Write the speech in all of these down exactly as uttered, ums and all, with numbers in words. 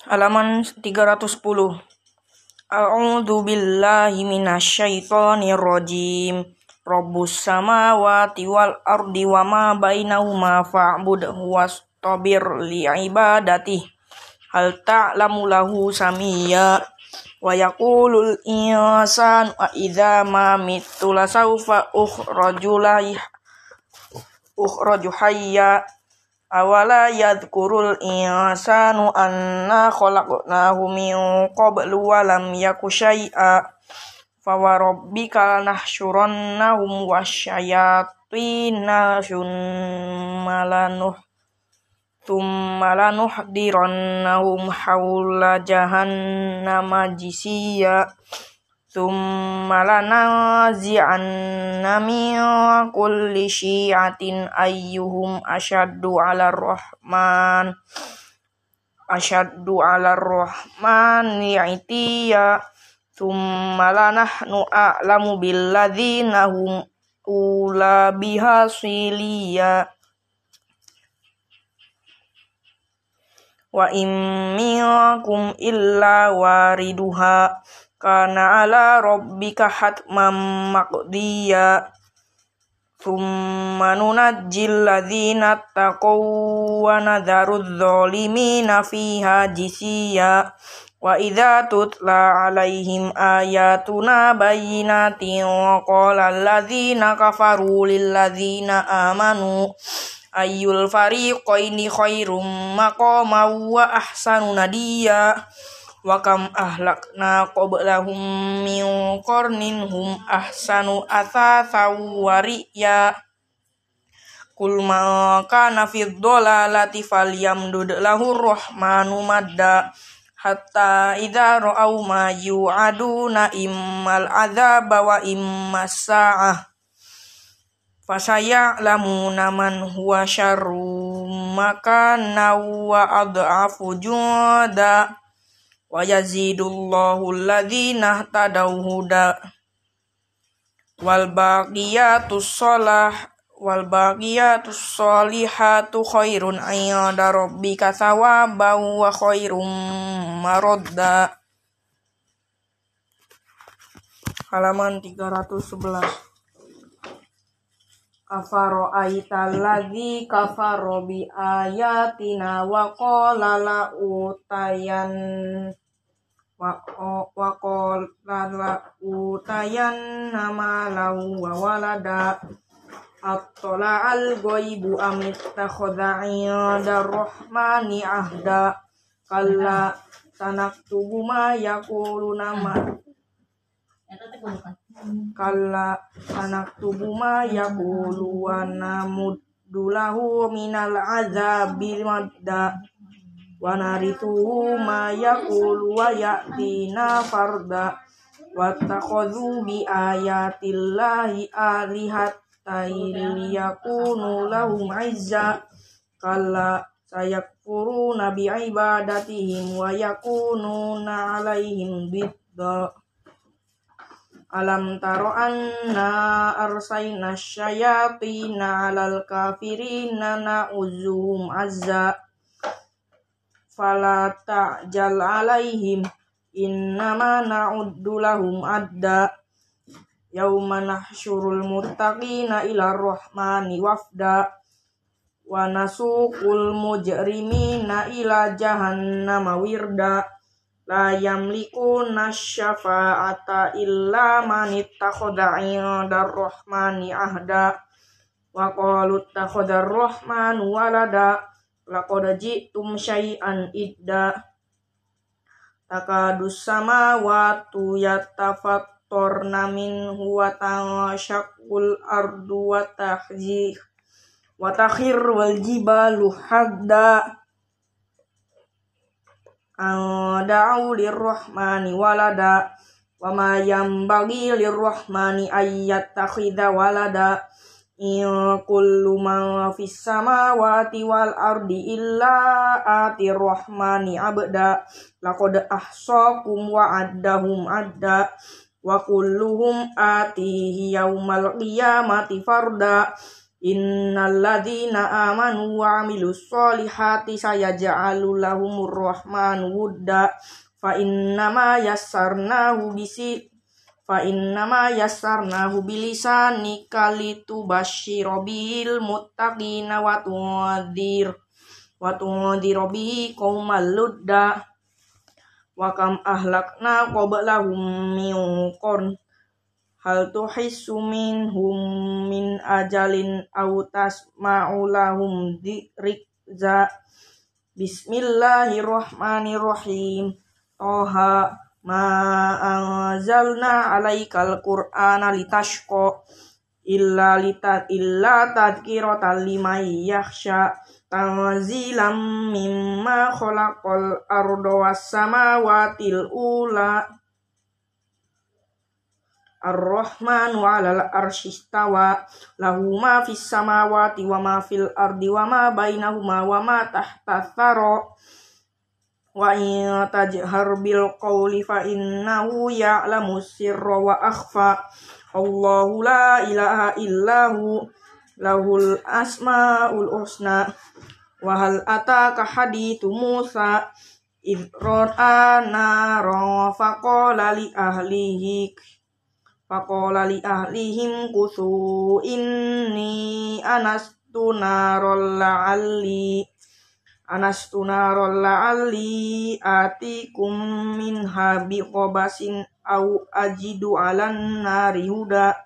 Halaman tiga ratus sepuluh. A'udzu billahi minasyaitonir rajim. Rabbus samawati wal ardi wa ma bainahuma fa'budhu wastabir li'ibadatihi. Hal ta'lamu lahu samiyya. Wa yaqulul insanu a idza ma mittu lasawfa ukhraju ukhraju hayya. Awala yadhkurul insanu anna khalaqnahu min qablu wa lam yaku syai'a. Fawarabbika nahsyurannahum wasyayatina thumma lanuhdirannahum hawla jahannama jisiyya. Thumma lanazi'anna min kulli syi'atin ayyuhum asyaddu 'alar rahman asyaddu 'alar rahmani 'itiyya. Thumma lanahnu a'lamu billadzina hum ula biha siliyya. Wa in minkum illa wariduha kana ala rabbika hatman maqdiyya. Thumma nunajjil ladzina taqaw wa nadharudz zalimina fiha jisiyya. Wa idza tutla alaihim ayatuna bayyinatin qala alladzina kafaru lil ladzina amanu ayyul fariqaini khairum maqaman wa ahsanu nadiyya. Wa kam ahlakna qablahum min qarnin hum ahsanu athathaw wa ri'ya. Qul ma kana fid dhalalati falyamdud lahur rahmanu madda. Hatta idza ra'aw ma yu'aduna immal adzaba wa immas sa'ah. Fasaya'lamuna man huwa syarrum makanan wa ad'afu junda. Wa yazidullahu alladhina tadaw huda. Wal baqiyatus shalah wal baqiyatus sholihatu khairun 'inda rabbika thawaban wa khairum maradda. Halaman tiga ratus sebelas. Afara'aital ladzi kafara bi ayatina wa qala la utayan wa wa qala la utayan nama lahu wa walada. Attala al ghaibu am ittakhadha 'inda rahmani ahda. Kalla sanaktubu ma yaquluna ma Kalla sanaktubu ma yaqulu wa namuddu lahu minal azabil madda. Wa narithuhu ma yaqulu wa ya'tina farda. Wattakhadhu bi ayatillahi alihatan liyakunu lahum 'izza. Kalla sayakfuruna bi ibadatihim wa yakununa 'alaihim bidda. Alam taro anna arsalna syayatina 'alal kafirina na'uzuhum azza. Fala ta'jal 'alaihim innama na'uddu lahum adda. Yauma nahsyurul muttaqina ilar rahmani wafda. Wa nasuqul mujrimina ila jahannama wirda. La yamlikuna syafa'ata illa man ittakhadha 'inda rahmani ahda. Wa qalu ittakhadha ar-rahmanu walada. Laqad ji'tum syai'an idda. Takadus samawati yatafattarna minhu wa tanshaqqul ardu wa tahzir wa takhirrul jibalu hadda. Da'u lirrahmani walada. Wa ma yanbaghi lirrahmani ayyattakhidha walada. In kullu man fis samawati wal ardi illa atir rahmani abda. Laqad ahsaqum wa addahum adda. Wa kulluhum atihi yaumal qiyamati farda. Innal ladzina amanu wa amilus solihati sayaj'alu lahumur rahmanu wudda fa innama yassarnahu bisi fa innama yassarnahu bilisanika litubashshira bil muttaqina wa tunzir wa tunzira bihi qaumal ludda wa kam ahlakna qablahum min qarn hal tuhissu minhum min ajalin aw tasma'u lahum dzikra. Bismillahirrahmanirrahim. Toha ma anzalna alaikal qur'ana litashqa illa lita illa tadhkiratan liman yakhsha tanzilam mimma khalaqal arda was samawatil ula. Ar-Rahmanu 'alal arsy istawa lahu ma fis samawati wa ma fil ardi wa ma bainahuma wa ma tahta tsara wa in tajhar bil qawli fa innahu ya'lamu sirra wa akhfa. Allahu la ilaha illahu lahul asmaul husna. Wa hal ataka hadithu Musa idh ra'a naran faqala li ahlihi Faqala li ahlihim kuthu inni anastu naral la'alli anastu naral la'alli atikum minha biqabasin au ajidu 'alan nari huda.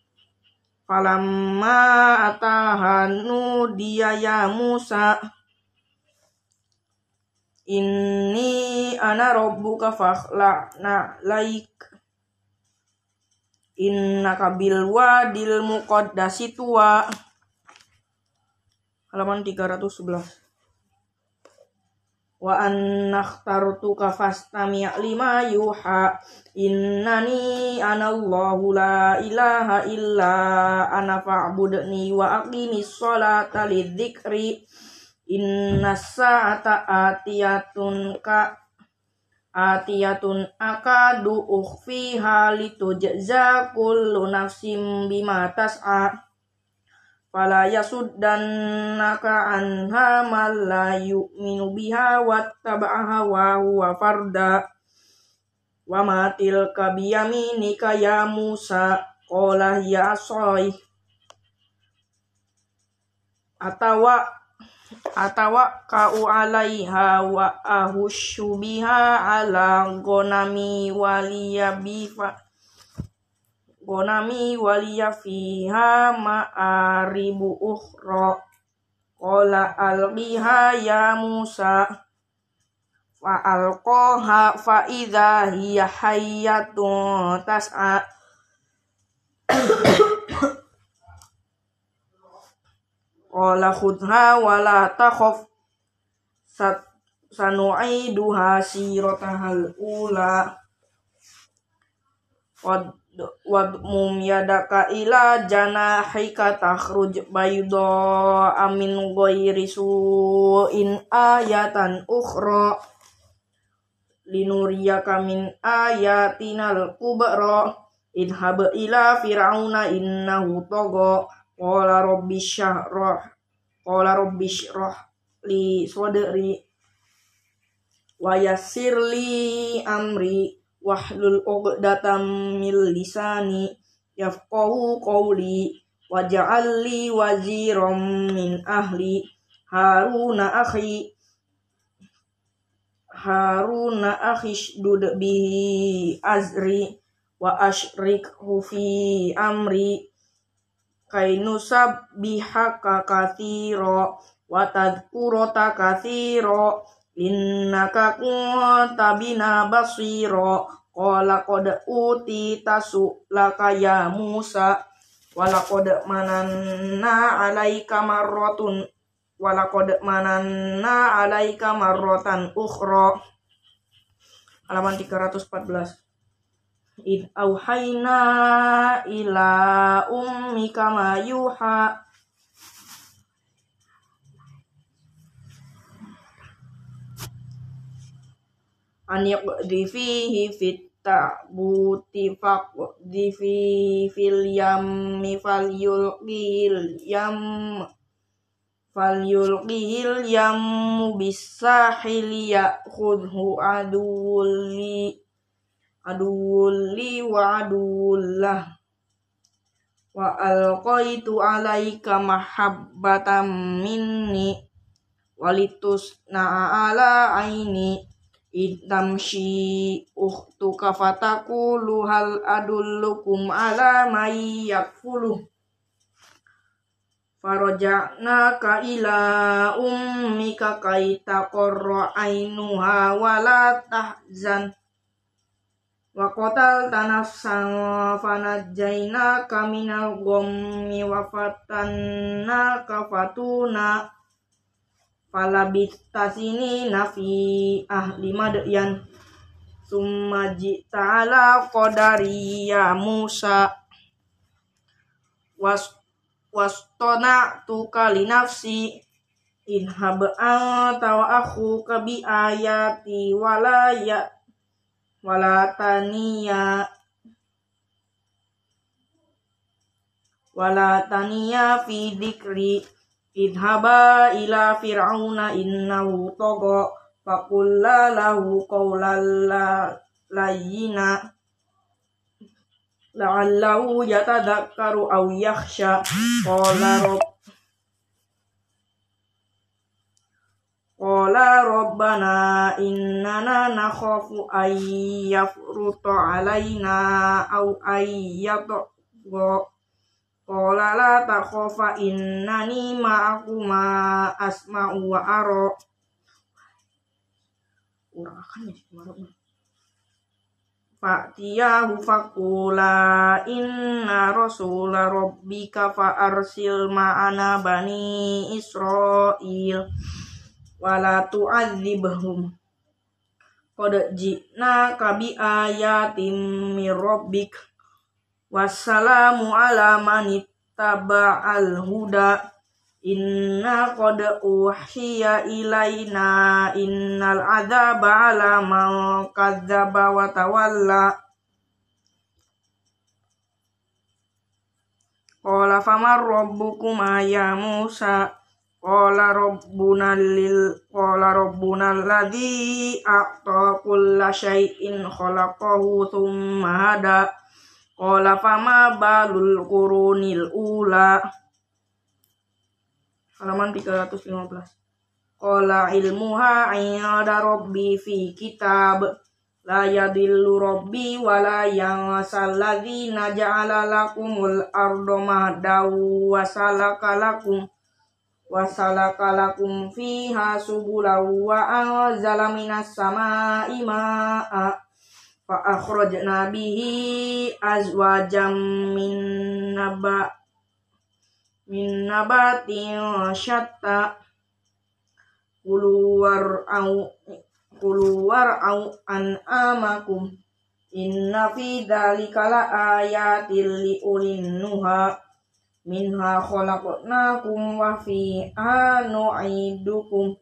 Falamma atahanu dia ya Musa inni ana rabbuka fakhla'na laik innaka bil wadil muqaddasi tuwa. Halaman tiga ratus sebelas. Wa annakhtartuka fastami' lima yuha innani anallahu la ilaha illa ana fa'budni wa aqimis sholata lidzikri innas sa'ata atiyatun ka atiyatun akadu ukhfiha litujza kullu nafsin bima tas'a fala yasuddannaka anha man la yu'minu biha wattaba'a hawahu wa farda. Wa ma tilka biyaminika ya Musa qala ya asai atawa atawa ka'u 'alaiha wa ahushu biha 'ala ghanami waliya bifa ghanami waliya fiha ma'aribu ukhra qala alqiha ya Musa fa alqaha fa idza hiya hayyatun tas'a qala khudha wa la takhaf sanu'iduha siratahal ula wadmum yadaka ila janahika takhruj bayda amin ghairi su'in ayatan ukhra linuriyaka min ayatinal kubra idhab ila fir'auna innahu tagha qala rabbi syrah qala rabbi syrah li sadri wa yassir li amri wahlul 'uqdatam min lisani yafqahu qawli waj'al li waziran min ahli haruna akhi haruna akhi shdud bihi azri wa ashrikhu fi amri kainusab bihaka kathira wa tadhkurata kathira innaka kunta bina basira qala qad utita su'laka ya Musa walaqad mananna 'alaika marratun walaqad mananna 'alaika marratan ukhra. Halaman tiga ratus empat belas. Id auhayna ila ummika ma yuha an yaqdi fihi fit tabuti faqdi fi fil yammi falyulqihil yam falyulqihil yammu bisahili ya'khudhu aduwli aduwli wa aduwullah wa alqaitu alaika mahabbatan minni walitusna ala aini idamshi ukhtuka fatakulu hal adullukum ala may yakfuluh faraja'naka ila ummika kay taqarra ainuha wala tahzan wa qatalta nafsan fanajjaynaka minal ghammi wa fatannaka fatuna falabista sinina fi ahli madyan summa ji'ta ala qadari ya Musa was wastona'tuka li nafsi idhab anta wa akhuka bi ayati wala ya wala taniya wala taniya fi dzikri idhaba ila fir'auna innahu tagha faqulla lahu qawlan layyina la'allahu yatadhakkaru aw yakhsha qala rabb qala rabbana innana nakhafu ay yafruta alaina aw ay yatgha qala la takhafa innani ma'akuma asma'u wa ara kurang akan ya kemarin fa'tiyahu faqula inna rasula rabbika fa'arsil ma'ana bani Israil wala tu'adzibhum qad ji'naka bi ayatin mir rabbik wassalamu ala man ittaba'al huda inna qad uhiya ilaina innal adzaba ala man kadzdzaba wa tawalla qala famar rabbukuma ya Musa qala rabbuna lil qala rabbuna alladzi a'ta kulla syai'in khalaqahu tsumma hada qala fama balul qurunil ula halaman tiga ratus lima belas qala ilmuha 'inda rabbi fi kitab la yadillu rabbi wa la yansal ladzina ja'ala lakumul arda mahdaw wa salaka lakum wa salaka lakum fiha subula wa anzala minas samaa'i maa'a fa akhrajna bihi azwajam min naba min nabatin syatta kuluwar au kuluwar au an'amakum inna fi dzalika la ayatil li ulin nuha minha khalaqnakum wa fiha nu'idukum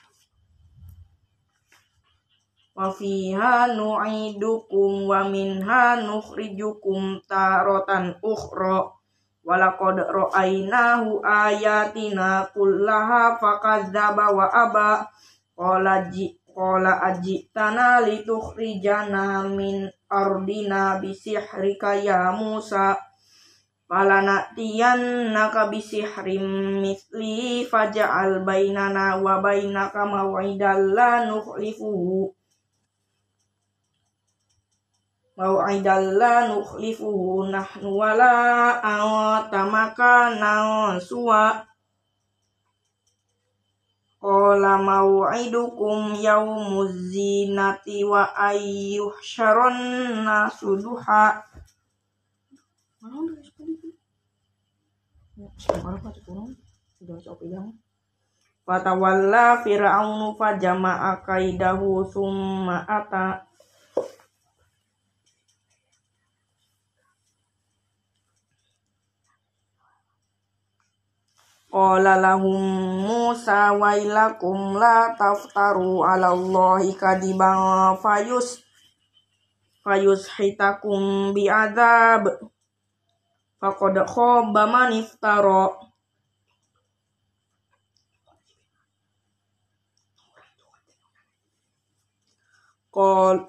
wa fiha nu'idukum wa minha nukhrijukum taratan ukhra walaqad ra'aynahu ayatina kullaha fakadzdzaba wa aba qala ji qala ajitana litukhrijana min ardina bisihrika ya Musa falanatiyannaka bisihrim mithli faj'al bainana wa bainaka maw'idan la nukhlifuhu maw'idan la nukhlifuhu nahnu wala anta makanan suwa qala maw'idukum yaumuz zinati wa ayyuhsyaron nasu duha fatawalla fir'aunu fajama'a kaidahu summa ata qala lahum Musa wailakum la taftaru 'ala Allahi kadiban fayus fayushitakum bi'adzab faqad khaba man iftara. Qal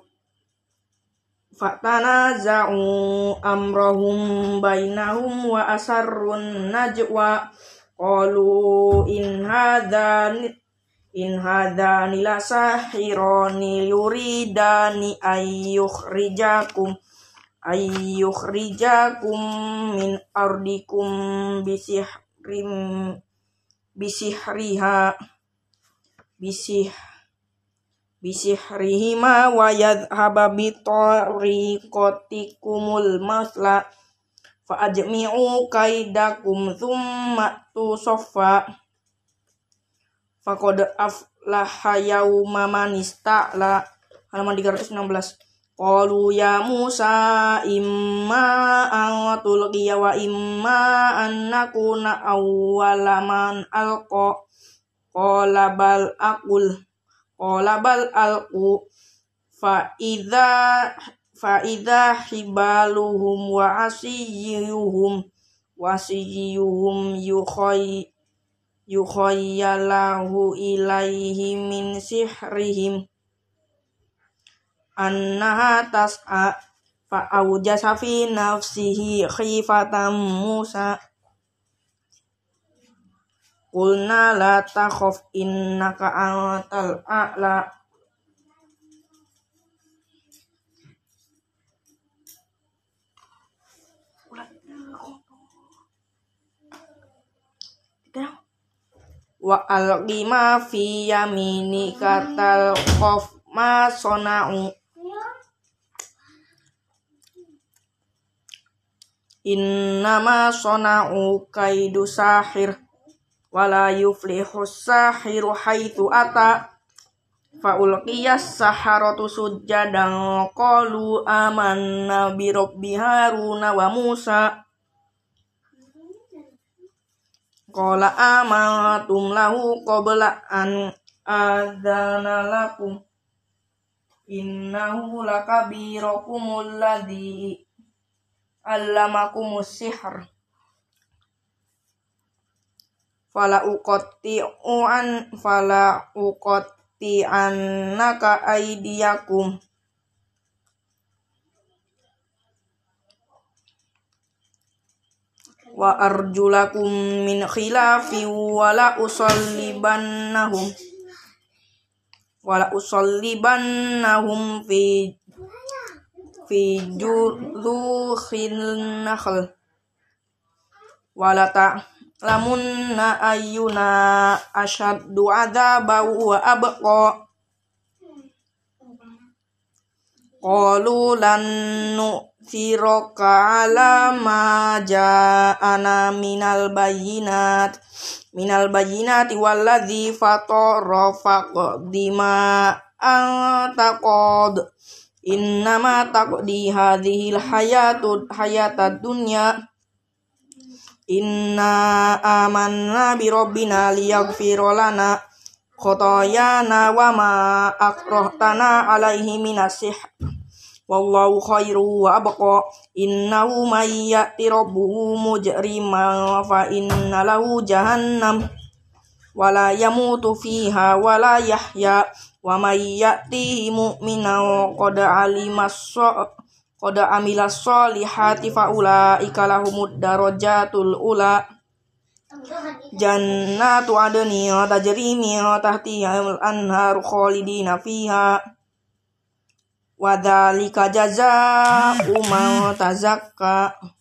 fatanaza'u amrahum bainahum wa asarrun najwa qalu in hadzani in hadzani lasahirani yuridani ayyukhrijakum ayyukhrijakum min ardikum bisihrim bisihriha bisih bisihrihima wa yadhhaba bitariqatikumul masla fa ajmi'u kaidakum thumma tusaffa faqad aflaha yawma man ista'la. Halaman tiga ratus enam belas. Qalu ya Musa imma an tulqiya wa imma an nakuna awwala man alqa qala bal aqul qala bal alqu fa idza fa idza hibaluhum wa asiyuhum wa asiyuhum yukhay yukhayyalahu ilaihi min sihrihim annaha tas'a fa awjasa fi nafsihi khifatan Musa qulna la takhaf innaka antal a'la. Wa alqi ma fi yaminika talqaf ma sona'u innama sona'u kaidu sahir wala yuflihu sahiru haitsu ata fa ulqiyas saharatu sujjadan qalu amanna bi rabbi haruna wa musa qala amantum lahu qabla an adzana lakum innahu lakabirakumul ladzi allamakumus sihr fala uqatti'u an fala uqatti'annaka aydiyakum wa arjulakum min khilafin wala usallibannahum wala usallibannahum fi fi judhukhil nakhl wala ta'lamunna ayyuna asyaddu adzaban wa abqa qalu lan nu'thiraka ala ma ja'ana minal bayyinat minal bayyinati walladzi fatara faqdima antaqad innama taqdi hadhil hayatud hayatad dunya inna amanna bi rabbina liyaghfira lana khotoyana wa ma akrahtana alaihi minasih wallahu khairu wa abqa innahu may ya'ti rabbuhu mujriman fa inna lahu jahannam wala yamutu fiha wala yahya wa may ya'tihi mu'minan qad alimas qad amilas solihati fa ulaika lahumud darajatul ula jannatu adni tajri min tahtihal anhar khalidina fiha wa dzalika jazaa'u man tazakka.